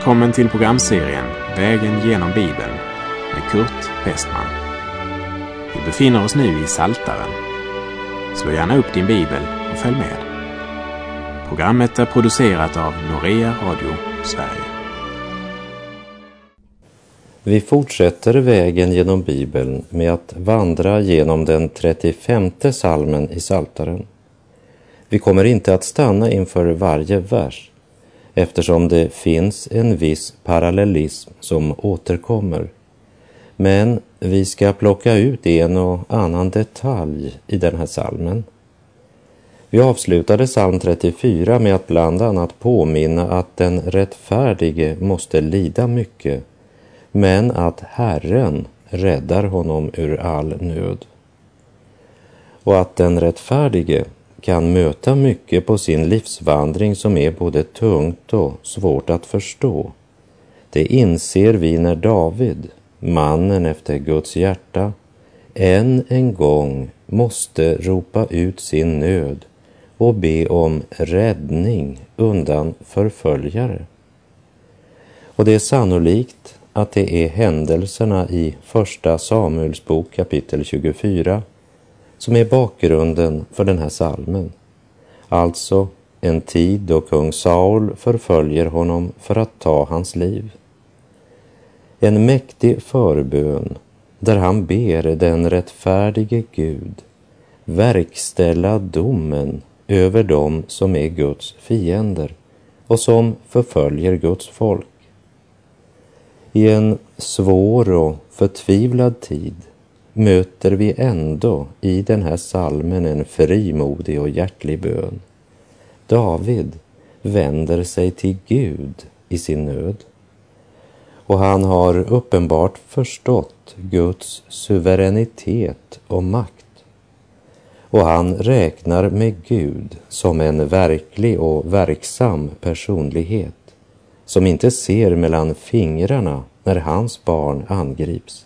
Välkommen till programserien Vägen genom Bibeln med Kurt Westman. Vi befinner oss nu i Psaltaren. Slå gärna upp din bibel och följ med. Programmet är producerat av Norea Radio Sverige. Vi fortsätter vägen genom Bibeln med att vandra genom den 35:e psalmen i Psaltaren. Vi kommer inte att stanna inför varje vers, eftersom det finns en viss parallellism som återkommer. Men vi ska plocka ut en och annan detalj i den här psalmen. Vi avslutade psalm 34 med att bland annat påminna att den rättfärdige måste lida mycket, men att Herren räddar honom ur all nöd. Och att den rättfärdige kan möta mycket på sin livsvandring som är både tungt och svårt att förstå. Det inser vi när David, mannen efter Guds hjärta, än en gång måste ropa ut sin nöd och be om räddning undan förföljare. Och det är sannolikt att det är händelserna i första Samuels bok kapitel 24 som är bakgrunden för den här psalmen. Alltså en tid då kung Saul förföljer honom för att ta hans liv. En mäktig förbön där han ber den rättfärdige Gud verkställa domen över dem som är Guds fiender och som förföljer Guds folk. I en svår och förtvivlad tid möter vi ändå i den här psalmen en frimodig och hjärtlig bön. David vänder sig till Gud i sin nöd. Och han har uppenbart förstått Guds suveränitet och makt. Och han räknar med Gud som en verklig och verksam personlighet som inte ser mellan fingrarna när hans barn angrips.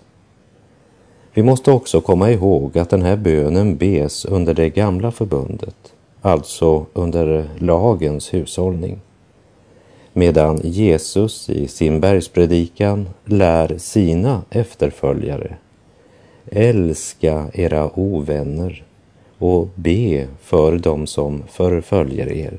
Vi måste också komma ihåg att den här bönen bes under det gamla förbundet, alltså under lagens hushållning. Medan Jesus i sin bergspredikan lär sina efterföljare: älska era ovänner och be för dem som förföljer er.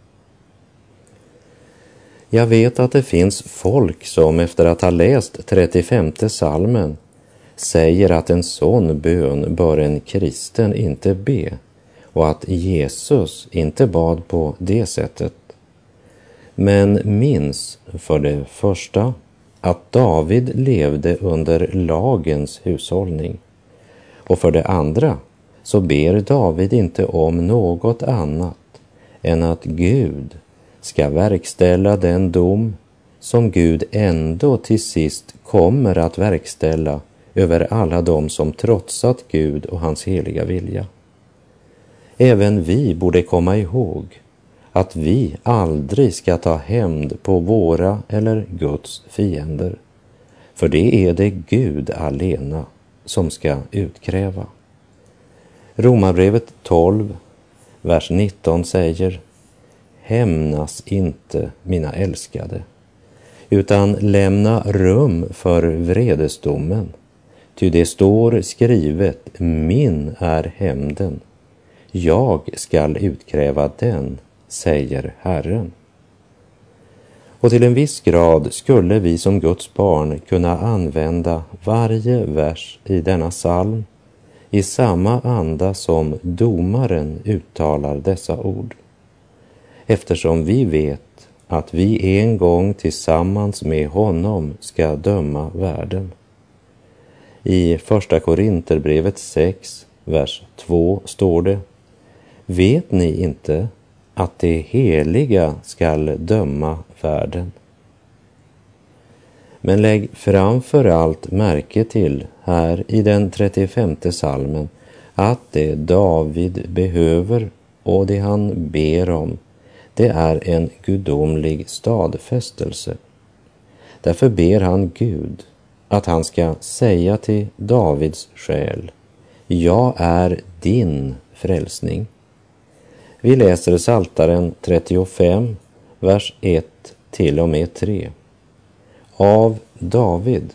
Jag vet att det finns folk som efter att ha läst 35:e psalmen säger att en sån bön bör en kristen inte be och att Jesus inte bad på det sättet. Men minns för det första att David levde under lagens hushållning. Och för det andra så ber David inte om något annat än att Gud ska verkställa den dom som Gud ändå till sist kommer att verkställa över alla dem som trotsat Gud och hans heliga vilja. Även vi borde komma ihåg att vi aldrig ska ta hämnd på våra eller Guds fiender. För det är det Gud alena som ska utkräva. Romarbrevet 12, vers 19 säger: hämnas inte, mina älskade, utan lämna rum för vredesdomen. Ty det står skrivet: min är hämnden, jag skall utkräva den, säger Herren. Och till en viss grad skulle vi som Guds barn kunna använda varje vers i denna psalm i samma anda som domaren uttalar dessa ord. Eftersom vi vet att vi en gång tillsammans med honom ska döma världen. I första Korinterbrevet 6, vers 2 står det: vet ni inte att det heliga skall döma världen? Men lägg framför allt märke till här i den 35:e psalmen att det David behöver och det han ber om, det är en gudomlig stadfästelse. Därför ber han Gud att han ska säga till Davids själ: jag är din frälsning. Vi läser Psaltaren 35, vers 1 till och med 3. av David.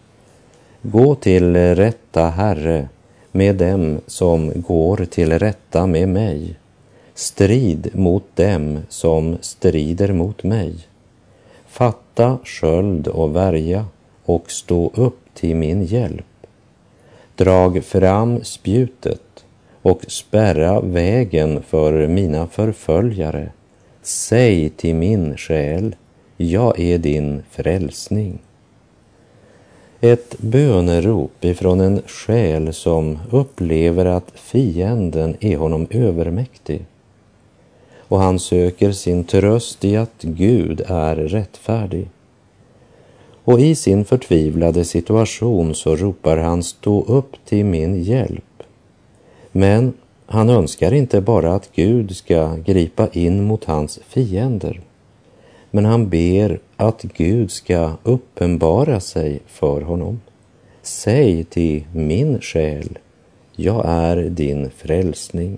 Gå till rätta, Herre, med dem som går till rätta med mig. Strid mot dem som strider mot mig. Fatta sköld och värja och stå upp till min hjälp. Drag fram spjutet och spärra vägen för mina förföljare. Säg till min själ, jag är din frälsning. Ett bönerop ifrån en själ som upplever att fienden är honom övermäktig. Och han söker sin tröst i att Gud är rättfärdig. Och i sin förtvivlade situation så ropar han, stå upp till min hjälp. Men han önskar inte bara att Gud ska gripa in mot hans fiender. Men han ber att Gud ska uppenbara sig för honom. Säg till min själ, jag är din frälsning.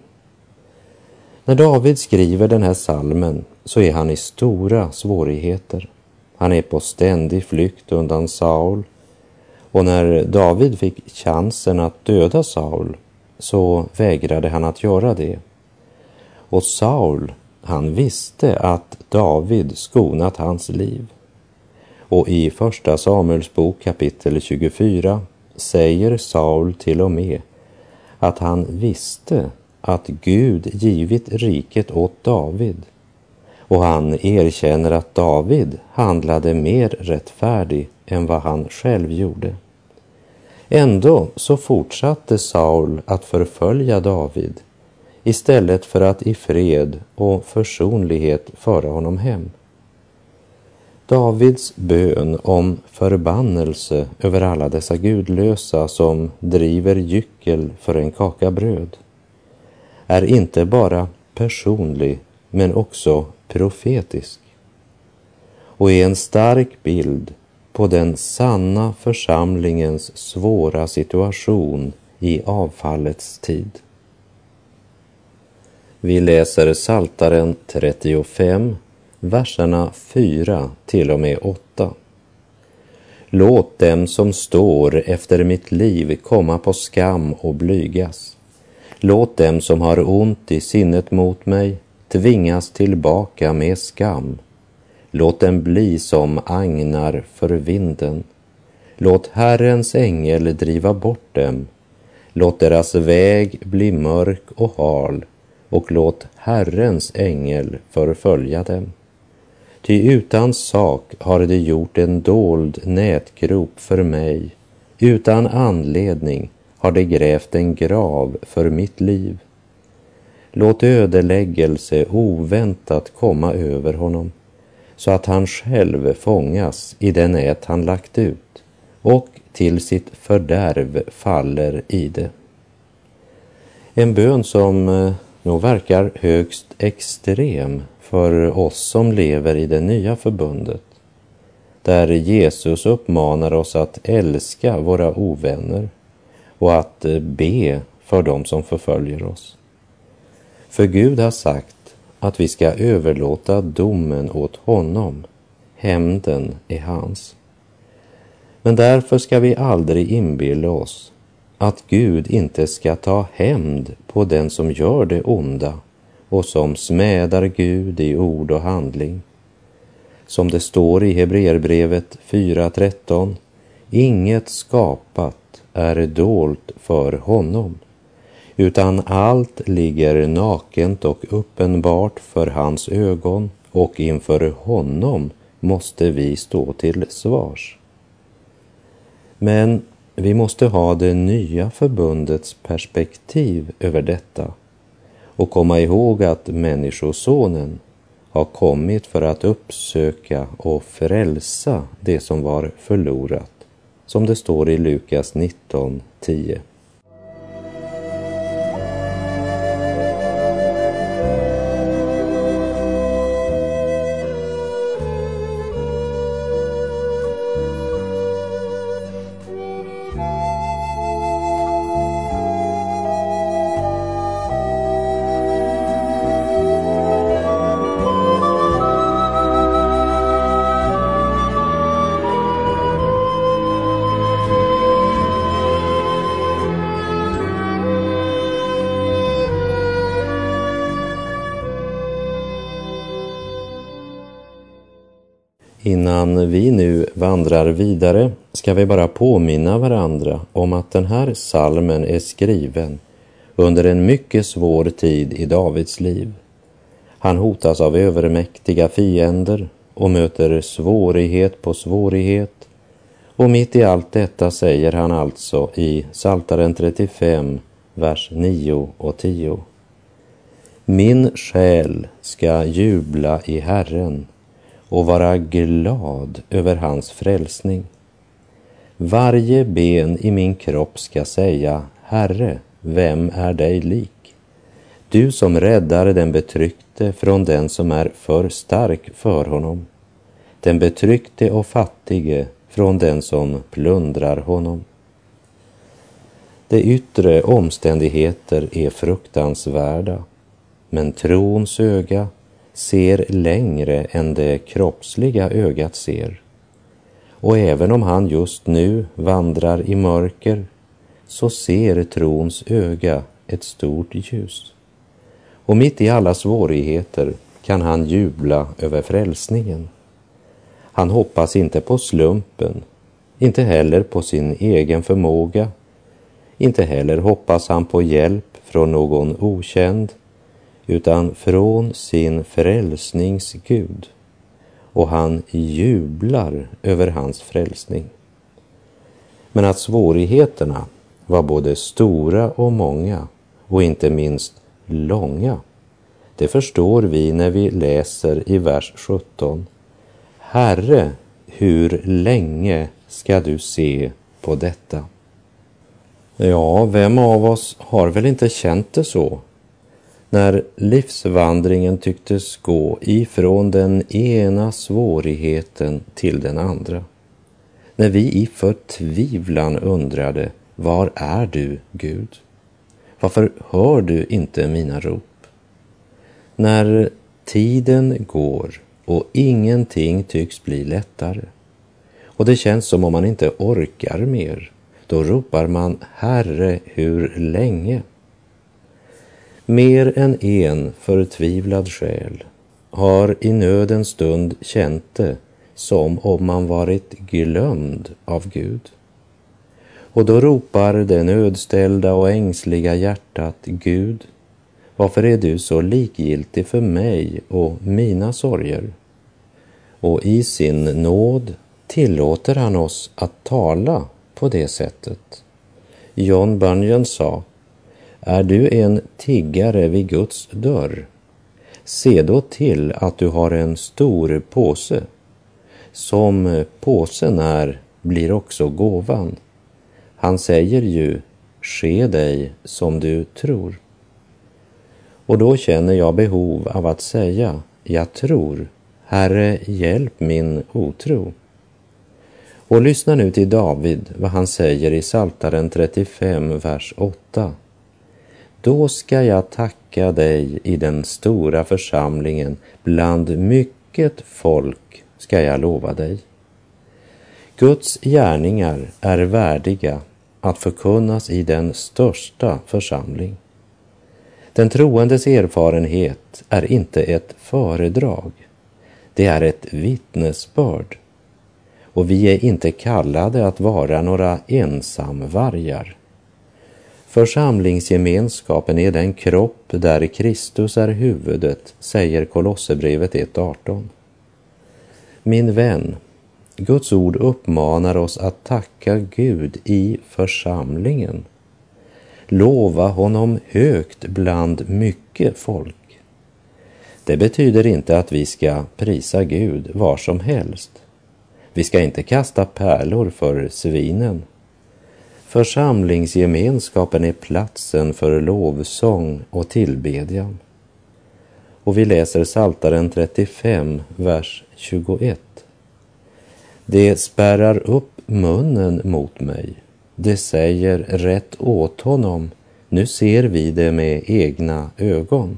När David skriver den här salmen så är han i stora svårigheter. Han är på ständig flykt undan Saul. Och när David fick chansen att döda Saul så vägrade han att göra det. Och Saul, han visste att David skonat hans liv. Och i första Samuels bok kapitel 24 säger Saul till och med att han visste att Gud givit riket åt David. Och han erkänner att David handlade mer rättfärdig än vad han själv gjorde. Ändå så fortsatte Saul att förfölja David istället för att i fred och försonlighet föra honom hem. Davids bön om förbannelse över alla dessa gudlösa som driver gyckel för en kaka bröd är inte bara personlig men också profetisk och är en stark bild på den sanna församlingens svåra situation i avfallets tid. Vi läser Psaltaren 35, verserna 4 till och med 8. Låt dem som står efter mitt liv komma på skam och blygas. Låt dem som har ont i sinnet mot mig tvingas tillbaka med skam. Låt dem bli som agnar för vinden. Låt Herrens ängel driva bort dem. Låt deras väg bli mörk och hal, och låt Herrens ängel förfölja dem. Ty utan sak har de gjort en dold nätgrop för mig. Utan anledning har de grävt en grav för mitt liv. Låt ödeläggelse oväntat komma över honom, så att han själv fångas i den nät han lagt ut och till sitt fördärv faller i det. En bön som nog verkar högst extrem för oss som lever i det nya förbundet, där Jesus uppmanar oss att älska våra ovänner och att be för dem som förföljer oss. För Gud har sagt att vi ska överlåta domen åt honom. Hämnden är hans. Men därför ska vi aldrig inbilla oss att Gud inte ska ta hämnd på den som gör det onda och som smädar Gud i ord och handling. Som det står i Hebreerbrevet 4:13, inget skapat är dolt för honom, utan allt ligger nakent och uppenbart för hans ögon, och inför honom måste vi stå till svars. Men vi måste ha det nya förbundets perspektiv över detta och komma ihåg att Människosonen har kommit för att uppsöka och frälsa det som var förlorat, som det står i Lukas 19:10. Innan vi nu vandrar vidare ska vi bara påminna varandra om att den här psalmen är skriven under en mycket svår tid i Davids liv. Han hotas av övermäktiga fiender och möter svårighet på svårighet. Och mitt i allt detta säger han alltså i Psaltaren 35, vers 9 och 10. Min själ ska jubla i Herren och vara glad över hans frälsning. Varje ben i min kropp ska säga, Herre, vem är dig lik? Du som räddar den betryckte från den som är för stark för honom, den betryckte och fattige från den som plundrar honom. De yttre omständigheter är fruktansvärda, men trons öga ser längre än det kroppsliga ögat ser. Och även om han just nu vandrar i mörker, så ser trons öga ett stort ljus. Och mitt i alla svårigheter kan han jubla över frälsningen. Han hoppas inte på slumpen, inte heller på sin egen förmåga. Inte heller hoppas han på hjälp från någon okänd, utan från sin frälsnings Gud. Och han jublar över hans frälsning. Men att svårigheterna var både stora och många, och inte minst långa, det förstår vi när vi läser i vers 17. Herre, hur länge ska du se på detta? Ja, vem av oss har väl inte känt det så? När livsvandringen tycktes gå ifrån den ena svårigheten till den andra. När vi i förtvivlan undrade, var är du, Gud? Varför hör du inte mina rop? När tiden går och ingenting tycks bli lättare, och det känns som om man inte orkar mer, då ropar man, Herre, hur länge? Mer än en förtvivlad själ har i nödens stund känt det som om man varit glömd av Gud. Och då ropar det nödställda och ängsliga hjärtat, Gud, varför är du så likgiltig för mig och mina sorger? Och i sin nåd tillåter han oss att tala på det sättet. John Bunyan sa, är du en tiggare vid Guds dörr? Se då till att du har en stor påse. Som påsen är blir också gåvan. Han säger ju, ske dig som du tror. Och då känner jag behov av att säga, jag tror, Herre, hjälp min otro. Och lyssna nu till David, vad han säger i Psaltaren 35, vers 8. Då ska jag tacka dig i den stora församlingen, bland mycket folk ska jag lova dig. Guds gärningar är värdiga att förkunnas i den största församling. Den troendes erfarenhet är inte ett föredrag, det är ett vittnesbörd. Och vi är inte kallade att vara några ensamvargar. Församlingsgemenskapen är den kropp där Kristus är huvudet, säger Kolosserbrevet 1:18. Min vän, Guds ord uppmanar oss att tacka Gud i församlingen. Lova honom högt bland mycket folk. Det betyder inte att vi ska prisa Gud var som helst. Vi ska inte kasta pärlor för svinen. Församlingsgemenskapen är platsen för lovsång och tillbedjan. Och vi läser Psaltaren 35, vers 21. Det spärrar upp munnen mot mig. Det säger rätt åt honom. Nu ser vi det med egna ögon.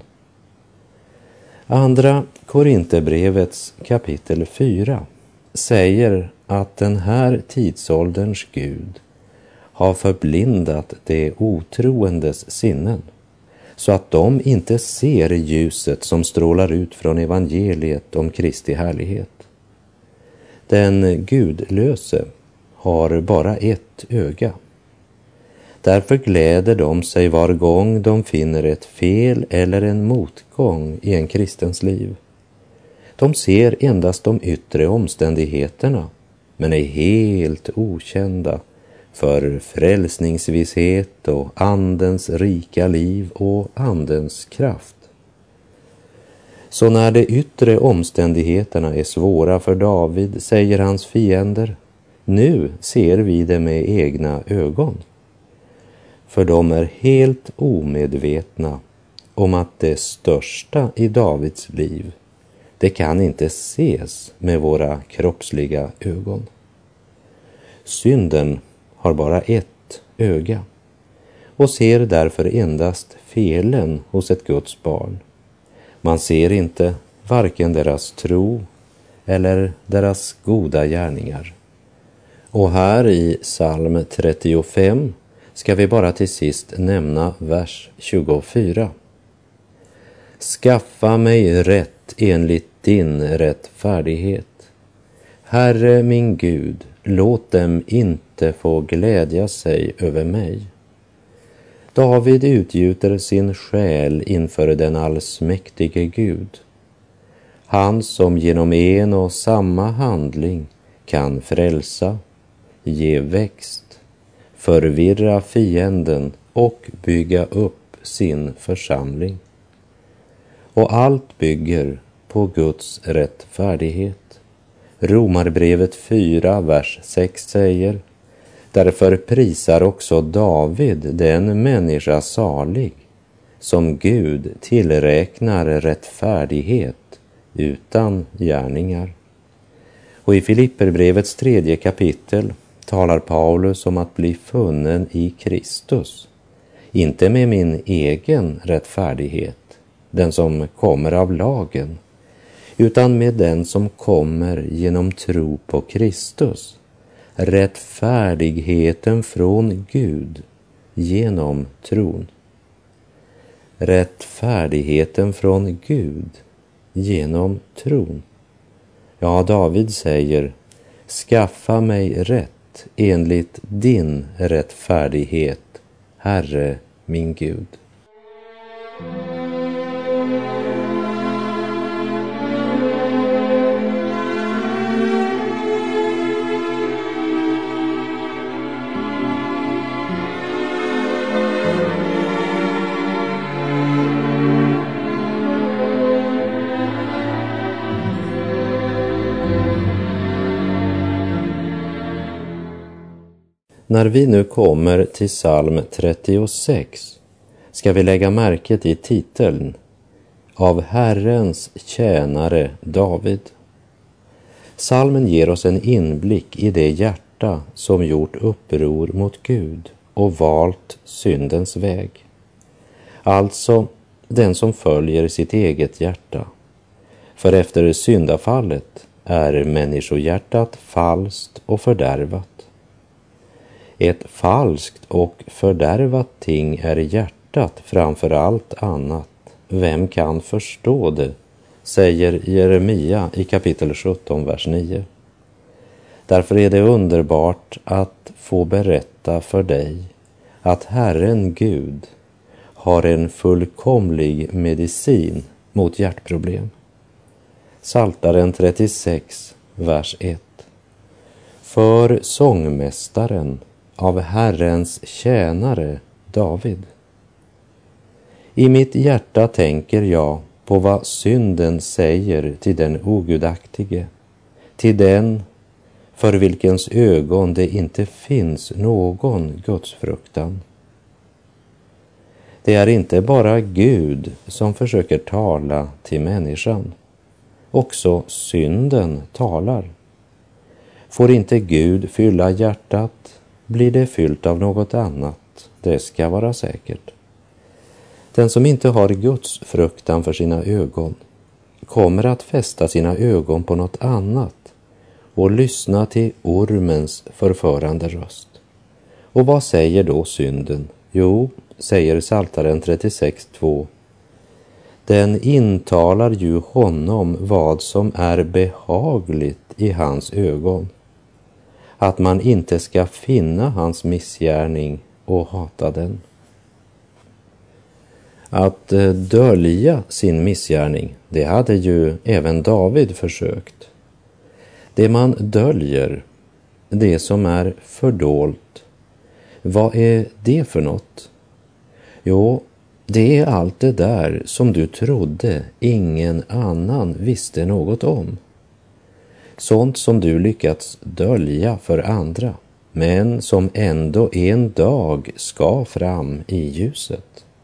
Andra Korinthierbrevets kapitel 4 säger att den här tidsålderns Gud har förblindat de otroendes sinnen, så att de inte ser ljuset som strålar ut från evangeliet om Kristi härlighet. Den gudlöse har bara ett öga. Därför gläder de sig var gång de finner ett fel eller en motgång i en kristens liv. De ser endast de yttre omständigheterna, men är helt okända för frälsningsvisshet och andens rika liv och andens kraft. Så när de yttre omständigheterna är svåra för David, säger hans fiender, nu ser vi det med egna ögon. För de är helt omedvetna om att det största i Davids liv, det kan inte ses med våra kroppsliga ögon. Synden har bara ett öga och ser därför endast felen hos ett Guds barn. Man ser inte varken deras tro eller deras goda gärningar. Och här i psalm 35 ska vi bara till sist nämna vers 24. Skaffa mig rätt enligt din rättfärdighet. Herre min Gud, låt dem inte få glädja sig över mig. David utgjuter sin själ inför den allsmäktige Gud. Han som genom en och samma handling kan frälsa, ge växt, förvirra fienden och bygga upp sin församling. Och allt bygger på Guds rättfärdighet. Romarbrevet 4, vers 6 säger: därför prisar också David den människa salig som Gud tillräknar rättfärdighet utan gärningar. Och i Filipperbrevets 3 kapitel talar Paulus om att bli funnen i Kristus, inte med min egen rättfärdighet, den som kommer av lagen, utan med den som kommer genom tro på Kristus, rättfärdigheten från Gud genom tron. Rättfärdigheten från Gud genom tron. Ja, David säger: skaffa mig rätt enligt din rättfärdighet, Herre min Gud. När vi nu kommer till psalm 36 ska vi lägga märke till titeln Av Herrens tjänare David. Psalmen ger oss en inblick i det hjärta som gjort uppror mot Gud och valt syndens väg. Alltså den som följer sitt eget hjärta. För efter syndafallet är människohjärtat falskt och fördärvat. Ett falskt och fördärvat ting är hjärtat framför allt annat. Vem kan förstå det? Säger Jeremia i kapitel 17, vers 9. Därför är det underbart att få berätta för dig att Herren Gud har en fullkomlig medicin mot hjärtproblem. Psaltaren 36, vers 1. För sångmästaren av Herrens tjänare David. I mitt hjärta tänker jag på vad synden säger till den ogudaktige, till den för vilkens ögon det inte finns någon gudsfruktan. Det är inte bara Gud som försöker tala till människan. Också synden talar. Får inte Gud fylla hjärtat, blir det fyllt av något annat, det ska vara säkert. Den som inte har Guds fruktan för sina ögon kommer att fästa sina ögon på något annat och lyssna till ormens förförande röst. Och vad säger då synden? Jo, säger Psaltaren 36:2. Den intalar ju honom vad som är behagligt i hans ögon, att man inte ska finna hans missgärning och hata den. Att dölja sin missgärning, det hade ju även David försökt. Det man döljer, det som är fördolt, vad är det för något? Jo, det är allt det där som du trodde ingen annan visste något om. Sånt som du lyckats dölja för andra, men som ändå en dag ska fram i ljuset.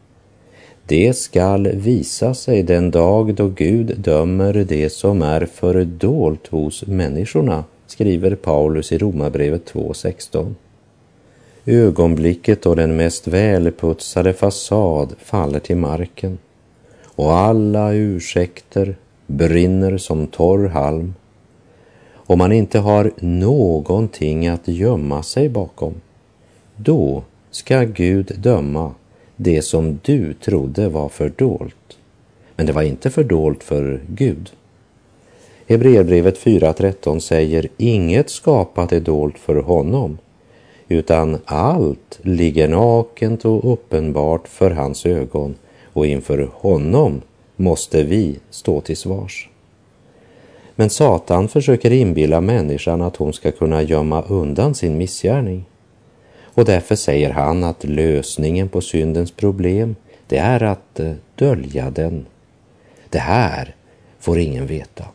Det skall visa sig den dag då Gud dömer det som är fördolt hos människorna, skriver Paulus i Romarbrevet 2:16. Ögonblicket då den mest välputsade fasad faller till marken och alla ursäkter brinner som torr halm och man inte har någonting att gömma sig bakom, då ska Gud döma det som du trodde var fördolt. Men det var inte fördolt för Gud. Hebreerbrevet 4:13 säger: inget skapat är dolt för honom, utan allt ligger nakent och uppenbart för hans ögon, och inför honom måste vi stå till svars. Men Satan försöker inbilla människan att hon ska kunna gömma undan sin missgärning. Och därför säger han att lösningen på syndens problem, det är att dölja den. Det här får ingen veta.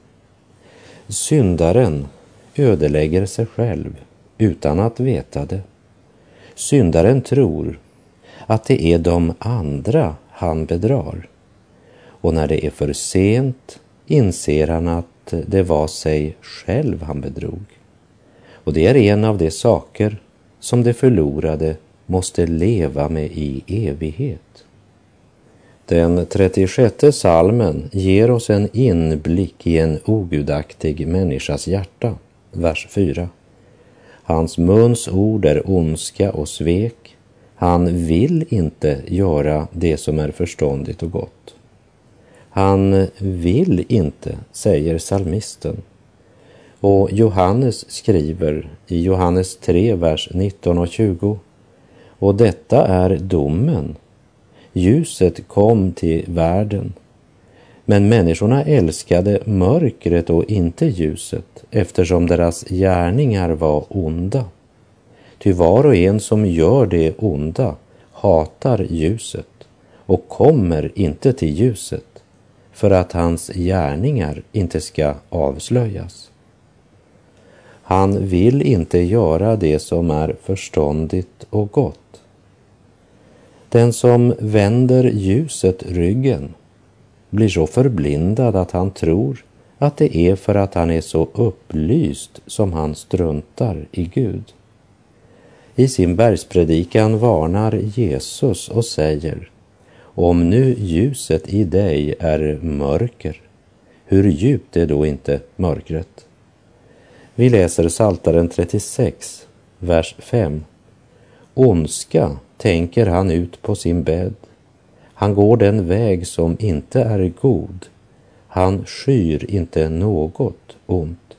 Syndaren ödelägger sig själv utan att veta det. Syndaren tror att det är de andra han bedrar. Och när det är för sent inser han att det var sig själv han bedrog. Och det är en av de saker som det förlorade måste leva med i evighet. Den 36:e psalmen ger oss en inblick i en ogudaktig människas hjärta. Vers 4. Hans muns ord är ondska och svek. Han vill inte göra det som är förståndigt och gott. Han vill inte, säger psalmisten. Och Johannes skriver i Johannes 3, vers 19 och 20. Och detta är domen. Ljuset kom till världen. Men människorna älskade mörkret och inte ljuset, eftersom deras gärningar var onda. Ty var och en som gör det onda hatar ljuset och kommer inte till ljuset, för att hans gärningar inte ska avslöjas. Han vill inte göra det som är förståndigt och gott. Den som vänder ljuset ryggen blir så förblindad att han tror att det är för att han är så upplyst som han struntar i Gud. I sin bergspredikan varnar Jesus och säger: om nu ljuset i dig är mörker, hur djupt är då inte mörkret? Vi läser Psaltaren 36, vers 5. Ondska tänker han ut på sin bädd. Han går den väg som inte är god. Han skyr inte något ont.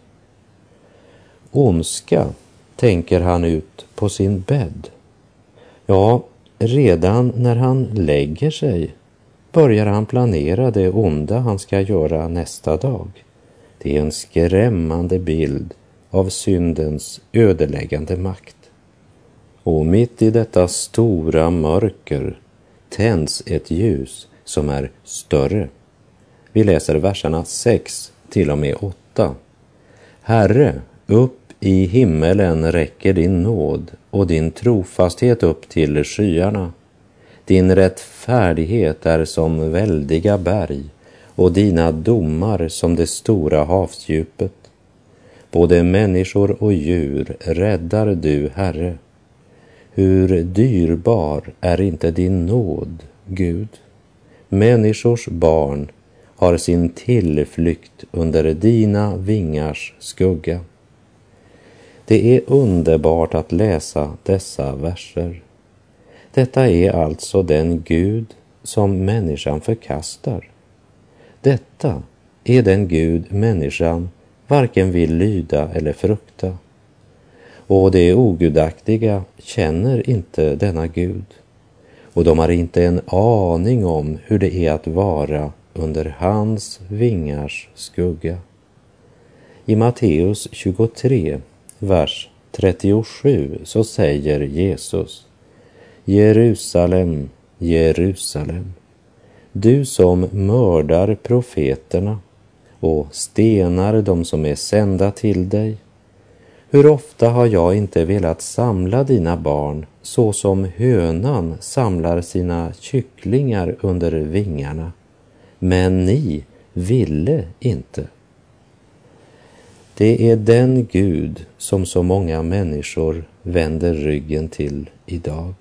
Ondska tänker han ut på sin bädd. Ja, redan när han lägger sig börjar han planera det onda han ska göra nästa dag. Det är en skrämmande bild av syndens ödeläggande makt. Och mitt i detta stora mörker tänds ett ljus som är större. Vi läser verserna 6 till och med 8. Herre, upp i himmelen räcker din nåd och din trofasthet upp till skyarna. Din rättfärdighet är som väldiga berg och dina domar som det stora havsdjupet. Både människor och djur räddar du, Herre. Hur dyrbar är inte din nåd, Gud? Människors barn har sin tillflykt under dina vingars skugga. Det är underbart att läsa dessa verser. Detta är alltså den Gud som människan förkastar. Detta är den Gud människan varken vill lyda eller frukta. Och det ogudaktiga känner inte denna Gud, och de har inte en aning om hur det är att vara under hans vingars skugga. I Matteus 23, vers 37 så säger Jesus: Jerusalem, Jerusalem, du som mördar profeterna och stenar de som är sända till dig. Hur ofta har jag inte velat samla dina barn så som hönan samlar sina kycklingar under vingarna, men ni ville inte. Det är den Gud som så många människor vänder ryggen till idag.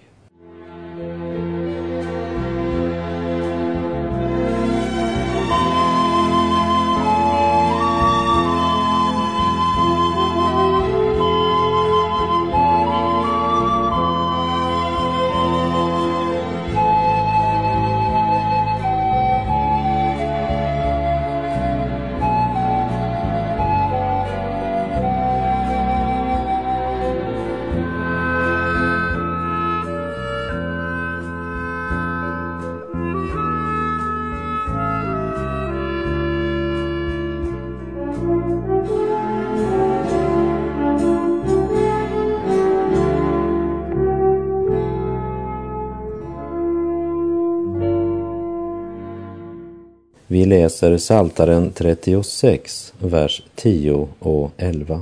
Vi läser Psaltaren 36, vers 10 och 11.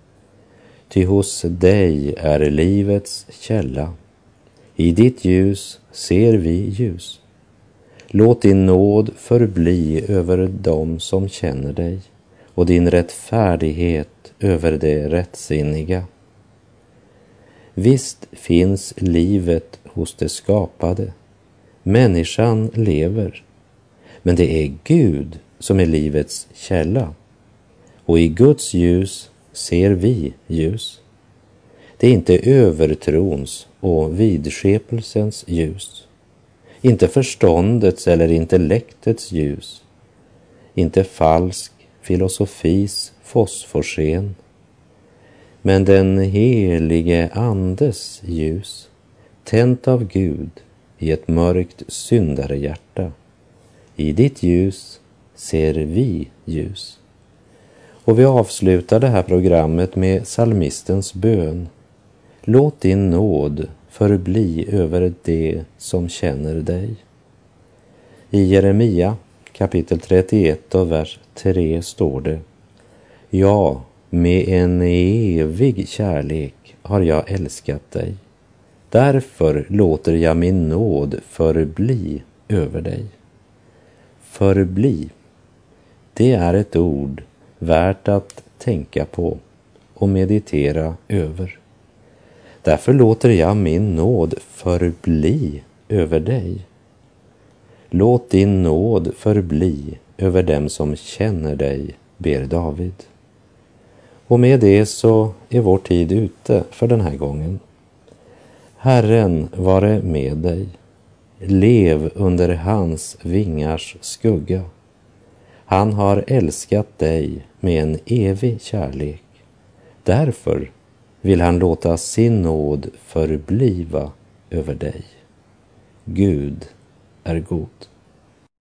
Ty hos dig är livets källa. I ditt ljus ser vi ljus. Låt din nåd förbli över dem som känner dig och din rättfärdighet över det rättsinniga. Visst finns livet hos det skapade. Människan lever. Men det är Gud som är livets källa, och i Guds ljus ser vi ljus. Det är inte övertrons och vidskepelsens ljus, inte förståndets eller intellektets ljus, inte falsk filosofis fosforsken, men den helige Andes ljus, tänt av Gud i ett mörkt syndarehjärta. I ditt ljus ser vi ljus. Och vi avslutar det här programmet med psalmistens bön. Låt din nåd förbli över det som känner dig. I Jeremia kapitel 31 och vers 3 står det: Ja, med en evig kärlek har jag älskat dig. Därför låter jag min nåd förbli över dig. Förbli, det är ett ord värt att tänka på och meditera över. Därför låter jag min nåd förbli över dig. Låt din nåd förbli över dem som känner dig, ber David. Och med det så är vår tid ute för den här gången. Herren vare med dig. Lev under hans vingars skugga. Han har älskat dig med en evig kärlek. Därför vill han låta sin nåd förbliva över dig. Gud är god.